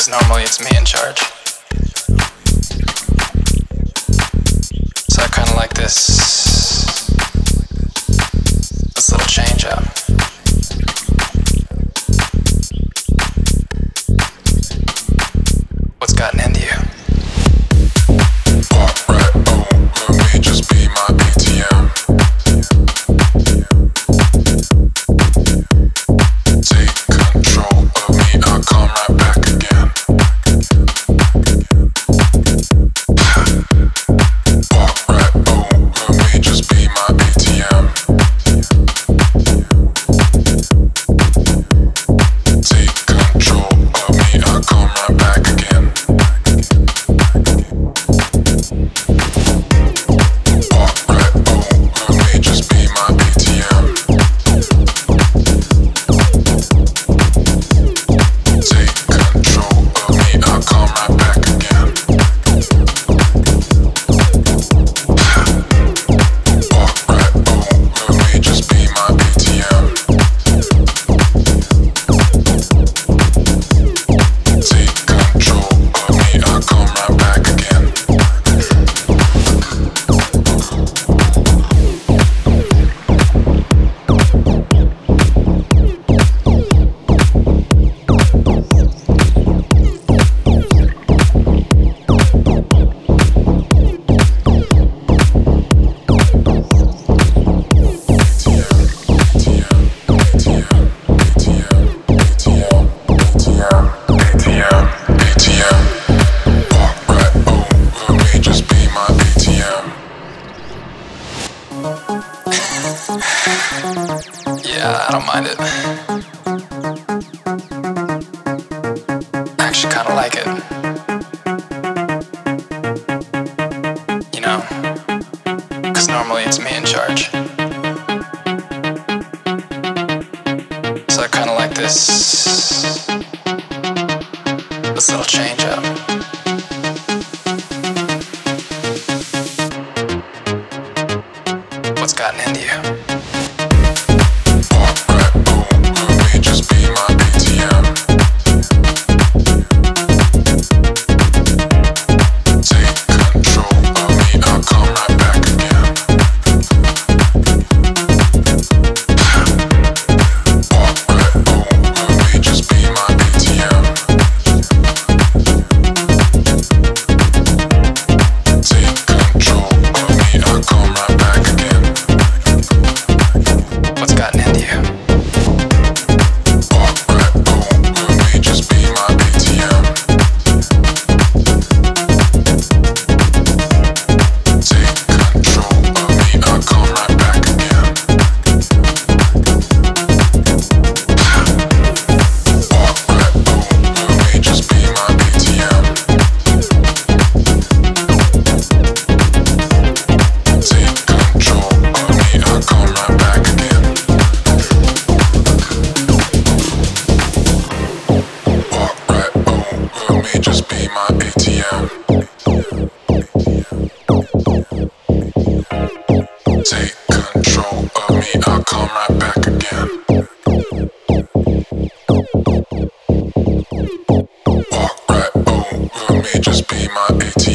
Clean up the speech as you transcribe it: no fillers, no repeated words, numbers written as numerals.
normally it's me in charge. So I kinda like this little change up. What's gotten into you? Pop right, oh, let me just be my ATM. Take control of me, I'll come right back again. Pop right, oh, let me just be my ATM. Take control of me, I'll come right back again. Pop right, oh, let me just be my ATM. Take control of me, I'll come right back again. Pop right, oh, let me just be my ATM. Take control of me, I'll come right back again. Yeah, I don't mind it. I actually kinda like it. You know? 'Cause normally it's me in charge. So I kinda like this little change up. What's gotten into you? Pop right, oh, let me just be my ATM. Take control of me, I'll come right back again. Pop right, oh, let me just be my ATM. Take control of me, I'll come right back again. What's gotten into you? Pop right, oh, let me just be my ATM. Take control of me, I'll come right back again. Pop right, oh, let me just be my ATM. Take control of me, I'll come right back again. Pop right, oh, let me just be my ATM. Take control of me, I'll come right back again. Pop right, oh, let me just be my ATM.